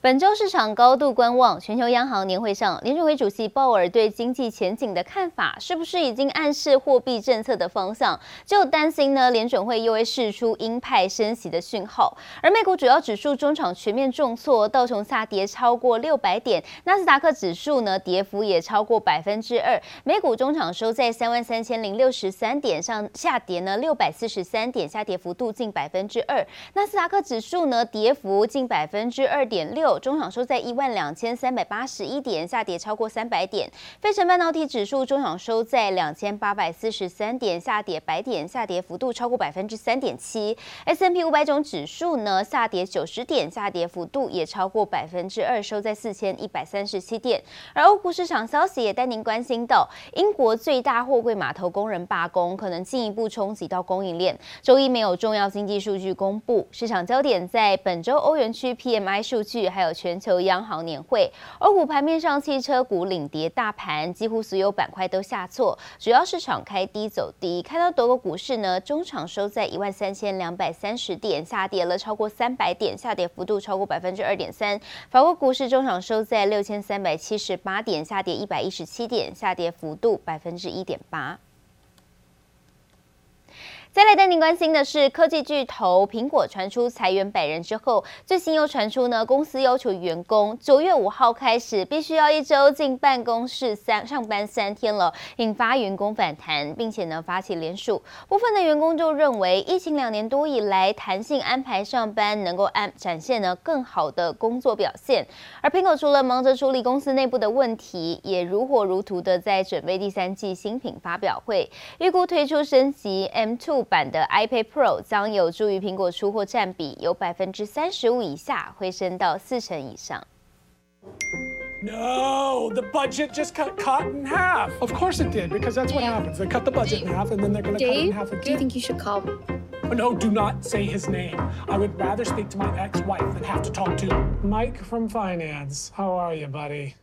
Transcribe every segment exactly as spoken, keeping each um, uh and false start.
本周市場高度觀望，全球央行年會上，聯準會主席鮑爾對經濟前景的看法，是不是已經暗示貨幣政策的方向？就擔心呢，聯準會又會釋出鷹派升息的訊號。而美股主要指數終場全面重挫，道瓊下跌超過六百點，納斯達克指數呢跌幅也超過百分之二。美股終場收在三萬三千零六十三點上，下跌呢六百四十三點，下跌幅度近百分之二。納斯達克指數呢跌幅近百分之二點六。終場收在一萬兩千三百八十一點，下跌超過三百點。費城半導體指數終場收在兩千八百四十三點，下跌百點，下跌幅度超過百分之三點七。S and P 五百種指數呢下跌九十點，下跌幅度也超過百分之二，收在四千一百三十七點。而歐股市場消息也帶您關心到，英國最大貨櫃碼頭工人罷工，可能進一步衝擊到供應鏈。周一沒有重要經濟數據公布，市場焦點在本周歐元區 P M I 數據，還有全球央行年會。歐股盤面上，汽車股領跌大盤，幾乎所有板塊都下挫，主要市場開低走低。看到德國股市呢，終場收在一萬三千兩百三十點，下跌了超過三百點，下跌幅度超過百分之二點三。法國股市終場收在六千三百七十八點，下跌一百一十七點，下跌幅度百分之一點八。再來帶您關心的是，科技巨頭蘋果傳出裁員百人之後，最新又傳出呢，公司要求員工九月五號開始必須要一周進辦公室三上班三天了，引發員工反彈，並且呢發起聯署。部分的員工就認為，疫情兩年多以來，彈性安排上班能夠安展現呢更好的工作表現。而蘋果除了忙着處理公司內部的問題，也如火如荼的在準備第三季新品發表會，預估推出升級 M 二版的 iPad Pro 將有助於蘋果出貨佔比由百分之三十五以下回升到四成以上。 No, the budget just got cut in half. Of course it did, because that's what happens. They cut the budget in half, and then they're going to cut it in half again. Do you think you should call? No, do not say his name. I would rather speak to my ex-wife than have to talk to Mike from finance. How are you, buddy?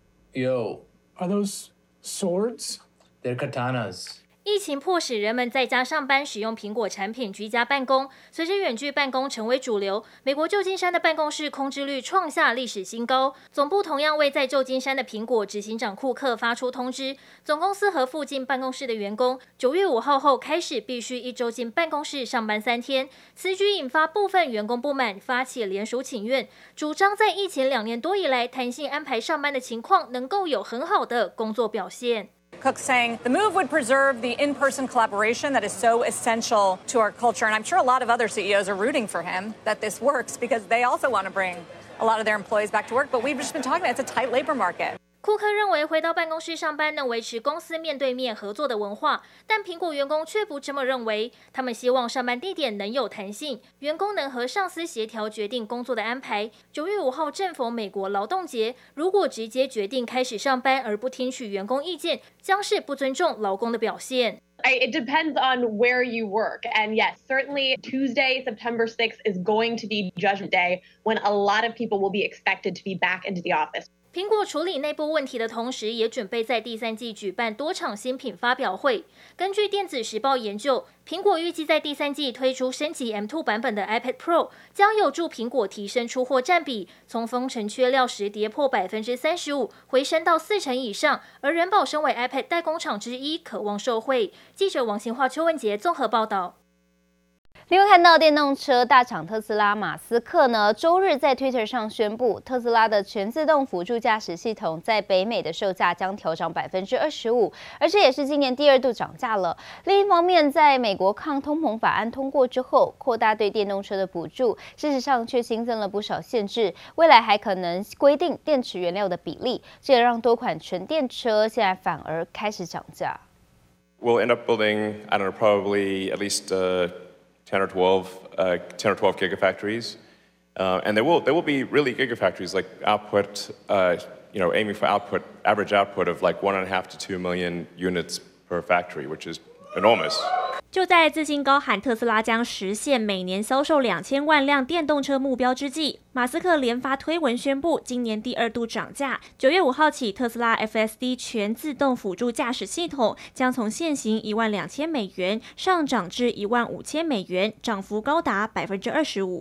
Yo. Are those swords? They're katanas. 疫情迫使人們在家上班，使用蘋果產品居家辦公。隨着遠距辦公成為主流，美國舊金山的辦公室空置率創下歷史新高。總部同樣為在舊金山的蘋果執行長庫克發出通知，總公司和附近辦公室的員工九月五號後開始必須一周進辦公室上班三天。此舉引發部分員工不滿，發起聯署請願，主張在疫情兩年多以來彈性安排上班的情況能夠有很好的工作表現。 Cook saying the move would preserve the in-person collaboration that is so essential to our culture. And I'm sure a lot of other C E Os are rooting for him that this works because they also want to bring a lot of their employees back to work. But we've just been talking about it's a tight labor market. 庫克認為回到辦公室上班能維持公司面對面合作的文化，但蘋果員工卻不這麼認為。他們希望上班地點能有彈性，員工能和上司協調決定工作的安排。九月五號正逢美國勞動節，如果直接決定開始上班而不聽取員工意見，將是不尊重勞工的表現。 It depends on where you work. And yes, certainly Tuesday, September sixth is going to be Judgment Day when a lot of people will be expected to be back into the office. 蘋果處理內部問題的同時，也準備在第三季舉辦多場新品發表會。根據電子時報研究，蘋果預計在第三季推出升級 M 二 版本的 iPad Pro， 將有助蘋果提升出貨佔比，從封城缺料時跌破百分之三十五，回升到四成以上。而仁寶身為 iPad 代工廠之一，渴望受惠。記者王新化、邱文杰綜合報道。另外，看到電動車大廠特斯拉，馬斯克呢周日在 Twitter 上宣布，特斯拉的全自動輔助駕駛系統在北美的售價將調漲百分之二十五，而這也是今年第二度漲價了。另一方面，在美國抗通膨法案通過之後，擴大對電動車的補助，事實上卻新增了不少限制，未來還可能規定電池原料的比例，這也讓多款純電車現在反而開始漲價。 We'll end up building, I don't know, probably at least uh, ten or twelve, uh, ten or twelve gigafactories, uh, and there will there will be really gigafactories like output, uh, you know, aiming for output, average output of like one and a half to two million units per factory, which is enormous. 就在自信高喊特斯拉將實現每年銷售兩千萬輛電動車目標之際，馬斯克連發推文宣布，今年第二度漲價。九月五號起，特斯拉 F S D 全自動輔助駕駛系統將從現行一萬兩千美元上漲至一萬五千美元，漲幅高達百分之二十五。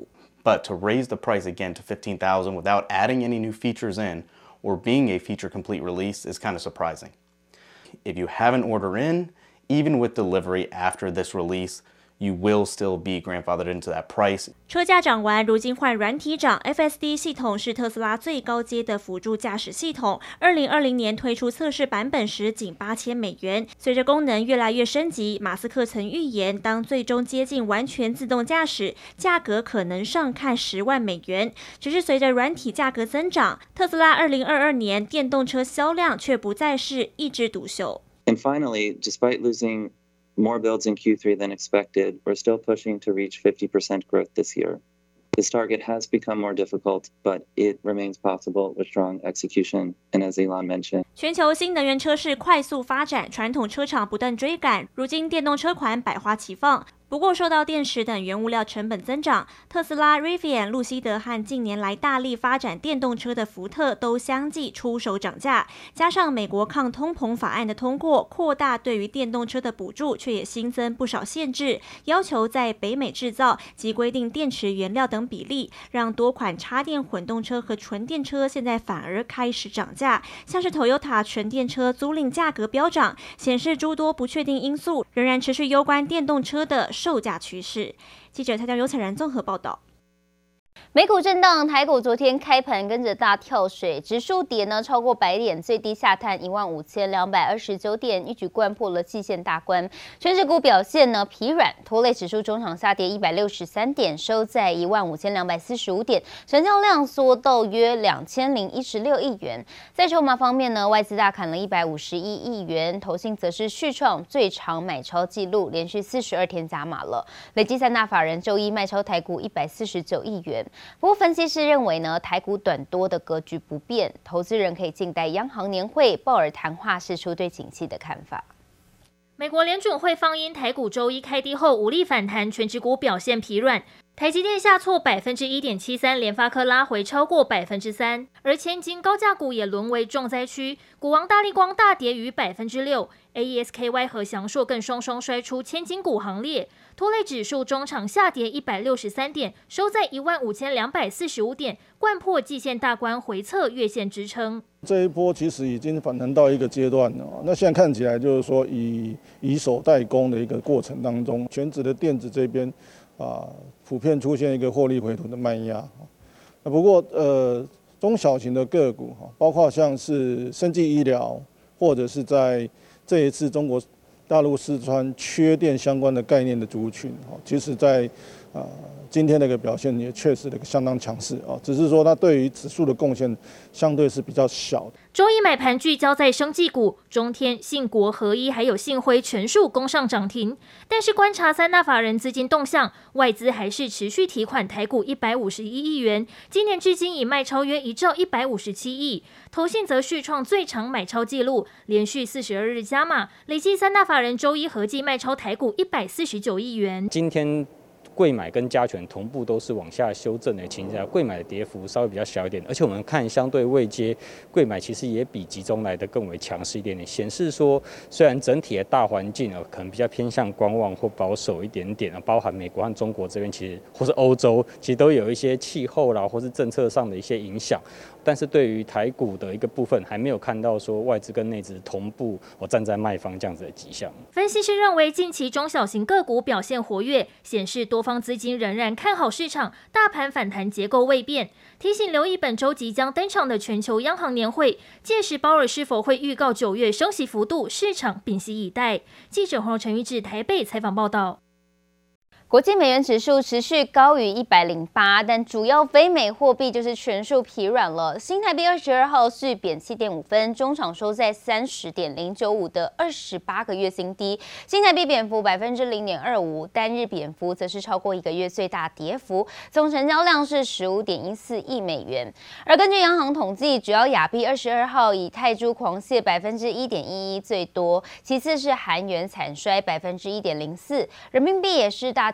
But to raise the price again to fifteen thousand dollars without adding any new features in or being a feature complete release is kind of surprising. If you have an order in, even with delivery after this release, you will still be grandfathered into that price. 車價漲完，如今換軟體漲 ，F S D 系統是特斯拉最高階的輔助駕駛系統。二零二零年推出測試版本時，僅八千美元。隨着功能越來越升級，馬斯克曾預言，當最終接近完全自動駕駛，價格可能上看十萬美元。只是隨着軟體價格增長，特斯拉二零二二年電動車銷量卻不再是一枝獨秀。 And finally, despite losing more builds in Q three than expected, we're still pushing to reach fifty percent growth this year. This target has become more difficult, but it remains possible with strong execution. And as Elon mentioned, 全球新能源車市快速發展，傳統車廠不斷追趕，如今電動車款百花齊放。不過，受到電池等原物料成本增長，特斯拉、Rivian、路西德和近年來大力發展電動車的福特都相繼出手漲價。加上美國抗通膨法案的通過，擴大對於電動車的補助，卻也新增不少限制，要求在北美製造及規定電池原料等比例，讓多款插電混動車和純電車現在反而開始漲價。像是 Toyota 純電車租賃價格飆漲，顯示諸多不確定因素仍然持續攸關電動車的售價趨勢。記者蔡江尤彩然綜合報道。 美股震盪，台股昨天開盤跟着大跳水，指數跌呢超過百點，最低下探一萬五千兩百二十九點，一舉摜破了季線大關。權值股表現呢疲軟，拖累指數中場下跌一百六十三點，收在一萬五千兩百四十五點，成交量縮到約兩千零一十六億元。在籌碼方面呢，外資大砍了一百五十一億元，投信則是續創最長買超紀錄，連續四十二天加碼了，累計三大法人周一賣超台股一百四十九億元。不過，分析師認為呢，台股短多的格局不變，投資人可以靜待央行年會，鮑爾談話釋出對景氣的看法。 美國聯準會放鷹，台股周一開低後無力反彈，權值股表現疲軟。台積電下挫百分之一點七三，聯發科拉回超過百分之三，而千金高價股也淪為重災區，股王大立光大跌逾百分之六 ，A E S K Y 和祥碩更雙雙摔出千金股行列，拖累指數中場下跌一百六十三點，收在一萬五千兩百四十五點，摜破季線大關，回測月線支撐。 這一波其實已經反彈到一個階段了，那現在看起來就是說以以守代攻的一個過程當中，權值的電子這邊。啊，普遍出現一個獲利回吐的賣壓。那不過，呃，中小型的個股哈，包括像是生技醫療，或者是在這一次中國大陸四川缺電相關的概念的族群，哈，其實在啊今天的一個表現也確實的相當強勢啊，只是說它對於指數的貢獻相對是比較小的。 周一買盤聚焦在生技股，中天、信國、合一還有信輝全數攻上漲停。但是觀察三大法人資金動向，外資還是持續提款台股一百五十一億元，今年至今已賣超約一兆一百五十七億。投信則續創最長買超紀錄，連續四十二日加碼，累計三大法人周一合計賣超台股一百四十九億元。 今天櫃買跟加權同步都是往下修正的情況下，櫃買的跌幅稍微比較小一點，而且我們看相對位階，櫃買其實也比集中來的更為強勢一點點，顯示說雖然整體的大環境啊可能比較偏向觀望或保守一點點啊，包含美國和中國這邊其實或是歐洲其實都有一些氣候啦或是政策上的一些影響，但是對於台股的一個部分還沒有看到說外資跟內資同步我站在賣方這樣子的跡象。 分析師認為近期中小型個股表現活躍，顯示多方資金仍然看好市場，大盤反彈結構未變。提醒留意本周即將登場的全球央行年會，屆時鮑爾是否會預告九月升息幅度，市場屏息以待。記者黃陳玉智台北採訪報道。 國際美元指數持續高於一百零八，但主要非美貨幣就是全數疲軟了。新台幣二十二號續貶七點五分，中場收在三十點零九五的二十八個月新低。新台幣貶幅百分之零點二五，單日貶幅則是超過一個月最大跌幅，總成交量是十五點一四億美元。而根據央行統計，主要亞幣二十二號以泰銖狂瀉百分之一點一一最多，其次是韓元慘衰百分之一點零四，人民幣也是大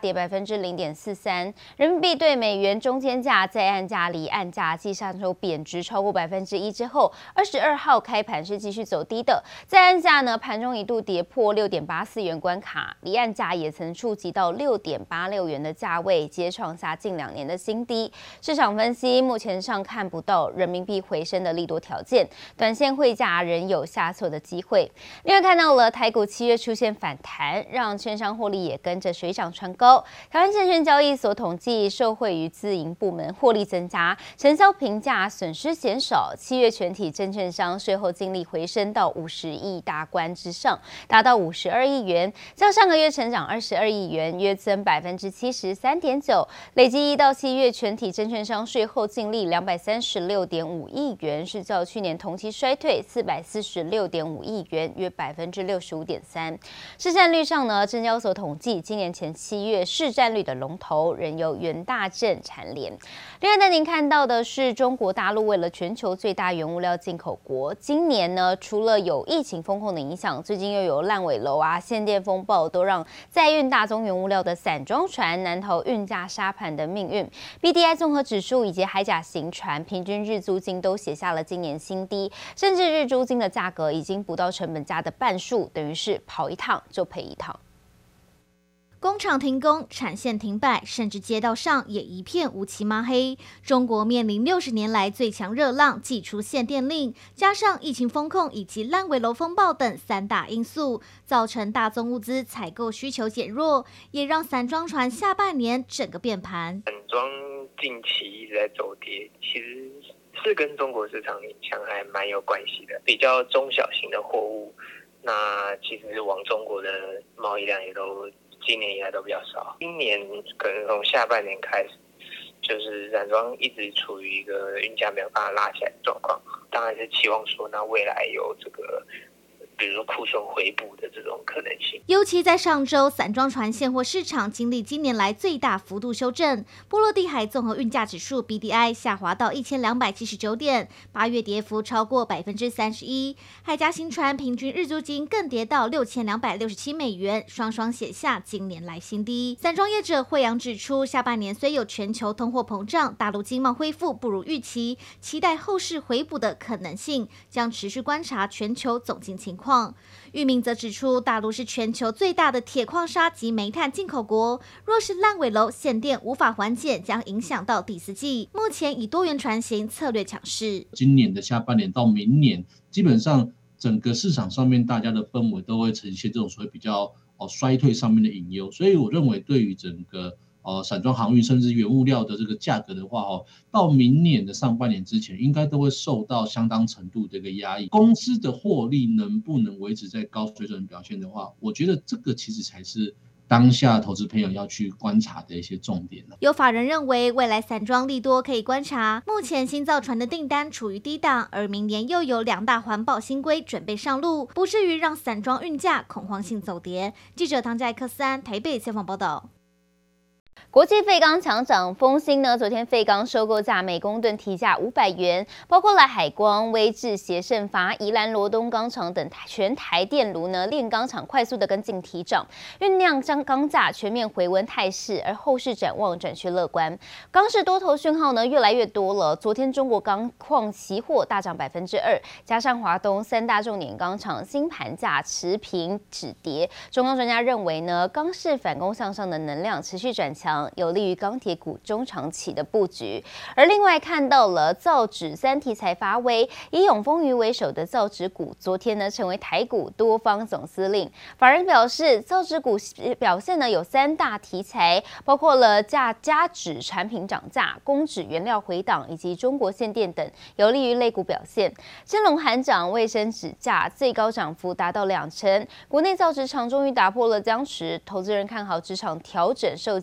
跌百分之零點四三。人民幣對美元中間價、在岸價、離岸價繼上周貶值超過百分之一之後，二十二號開盤是繼續走低的。在岸價呢，盤中一度跌破六點八四元關卡，離岸價也曾觸及到六點八六元的價位，皆創下近兩年的新低。市場分析，目前上看不到人民幣回升的利多條件，短線匯價仍有下挫的機會。另外看到了台股七月出現反彈，讓券商獲利也跟着水漲船高。台灣證券交易所統計，受惠於自營部門獲利增加，承銷評價損失減少，七月全體證券商稅後淨利回升到五十億大關之上，達到五十二億元，較上個月成長二十二億元，約增百分之七十三點九。累計一到七月全體證券商稅後淨利兩百三十六點五億元，是較去年同期衰退四百四十六點五億元，約百分之六十五點三。市占率上呢，證交所統計，今年前七月市占率的龍頭仍由元大證蟬聯。另外，帶您看到的是，中國大陸為了全球最大原物料進口國，今年呢，除了有疫情風控的影響，最近又有爛尾樓啊、限電風暴，都讓載運大宗原物料的散裝船難逃運價殺盤的命運。B D I 綜合指數以及海甲型船平均日租金都寫下了今年新低，甚至日租金的價格已經不到成本價的半數，等於是跑一趟就賠一趟。 工廠停工，產線停擺，甚至街道上也一片烏漆抹黑。中國面臨六十年來最強熱浪，祭出限電令，加上疫情封控以及爛尾樓風暴等三大因素，造成大宗物資採購需求減弱，也讓散裝船下半年整個變盤。 散裝近期一直在走跌，其實是跟中國市場影響還蠻有關係的。比較中小型的貨物，那其實往中國的貿易量也都今年以來都比較少，今年可能從下半年開始，就是散裝一直處於一個運價沒有辦法拉起來的狀況。當然是期望說，那未來有這個，比如說庫存回補的這種可能性。 尤其在上周，散裝船現貨市場經歷今年來最大幅度修正，波羅的海綜合運價指數 B D I 下滑到一千兩百七十九點，八月跌幅超過百分之三十一。海甲型船平均日租金更跌到六千兩百六十七美元，雙雙寫下今年來新低。散裝業者慧洋指出，下半年雖有全球通貨膨脹、大陸經貿恢復不如預期，期待後市回補的可能性，將持續觀察全球總經情況。裕民則指出，大陸是全球最大的鐵礦砂及煤炭進口國，若是爛尾樓限電無法緩解，將影響到第四季。目前以多元船型策略強勢， 今年的下半年到明年，基本上整個市場上面大家的氛圍都會呈現這種所謂比較哦衰退上面的隱憂，所以我認為對於整個呃，散裝航運甚至原物料的這個價格的話，哦，到明年的上半年之前，應該都會受到相當程度的一個壓抑。公司的獲利能不能維持在高水準表現的話，我覺得這個其實才是當下投資朋友要去觀察的一些重點。 有法人認為，未來散裝利多可以觀察。目前新造船的訂單處於低檔，而明年又有兩大環保新規準備上路，不至於讓散裝運價恐慌性走跌。記者唐佳克斯安台北採訪報道。 國際廢鋼強漲，豐興呢，昨天廢鋼收購價每公噸提價五百元，包括了海光、威致、協盛發、宜蘭羅東鋼廠等全台電爐呢煉鋼廠快速的跟進提漲，醞釀將鋼價全面回溫態勢，而後市展望轉趨樂觀。鋼市多頭訊號呢越來越多了，昨天中國鋼礦期貨大漲百分之二，加上華東三大重點鋼廠新盤價持平止跌，中鋼專家認為呢，鋼市反攻向上的能量持續轉強，有利於鋼鐵股中長期的布局。而另外看到了造紙三題材發威，以永豐餘為首的造紙股，昨天呢成為台股多方總司令。法人表示，造紙股表現呢有三大題材，包括了價加紙產品漲價、工紙原料回檔以及中國限電等，有利於類股表現。真龍喊漲，衛生紙價最高漲幅達到兩成。國內造紙廠終於打破了僵持，投資人看好紙廠調整售價。有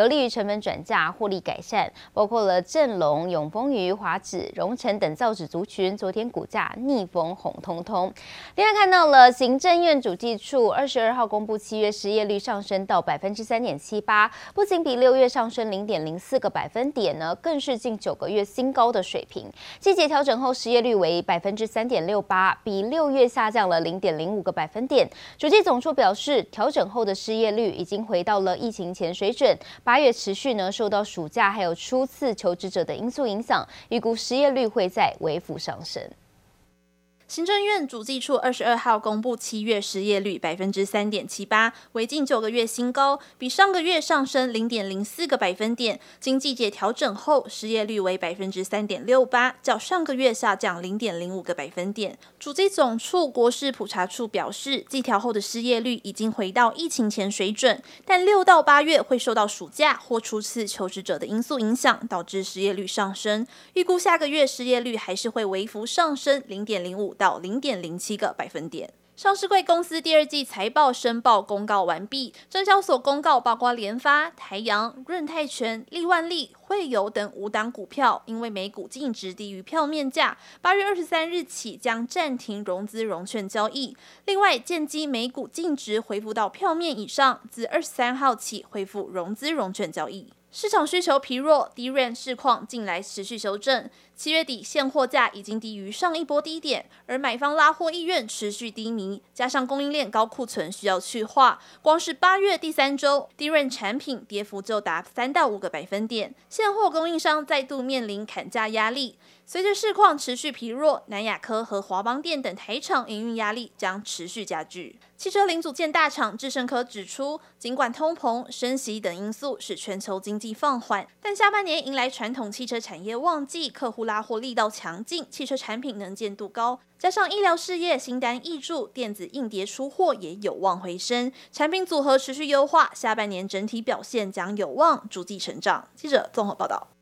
有利於成本轉嫁、獲利改善。包括了正隆、永豐餘、華紙、榮成等造紙族群，昨天股價逆風紅彤彤。另外看到了行政院主計處二十二號公布七月失業率上升到百分之三點七八，不僅比六月上升零點零四個百分點呢，更是近九個月新高的水平。季節調整後失業率為百分之三點六八，比六月下降了零點零五個百分點。主計總處表示，調整後的失業率已經回到了疫情前水準。八月持續呢受到暑假還有初次求職者的因素影響，預估失業率會再微幅上升。 行政院主計處二十二號公布七月失業率百分之三點七八，為近九個月新高，比上個月上升零點零四個百分點。經季節調整後，失業率為百分之三點六八，較上個月下降零點零五個百分點。主計總處國勢普查處表示，季調後的失業率已經回到疫情前水準，但六到八月會受到暑假或初次求職者的因素影響，導致失業率上升。預估下個月失業率還是會微幅上升零點零五到零點零七個百分點。上市櫃公司第二季財報申報公告完畢，證交所公告包括聯發、台陽、潤泰全、力萬力、匯油等五檔股票，因為每股淨值低於票面價，八月二十三日起將暫停融資融券交易。另外，建機每股淨值恢復到票面以上，自二十三號起恢復融資融券交易。市場需求疲弱 ，D RAM 市況近來持續修正。七月底現貨價已經低於上一波低點，而買方拉貨意願持續低迷，加上供應鏈高庫存需要去化，光是八月第三周 D RAM 產品跌幅就達三到五個百分點，現貨供應商再度面臨砍價壓力。隨着市況持續疲弱，南亞科和華邦電等台廠營運壓力將持續加劇。汽車零組件大廠智勝科指出，儘管通膨、升息等因素使全球經濟放緩，但下半年迎來傳統汽車產業旺季，客戶拉貨力道強勁，汽車產品能見度高，加上醫療事業新單挹注，電子硬碟出貨也有望回升，產品組合持續優化，下半年整體表現將有望逐季成長。記者綜合報道。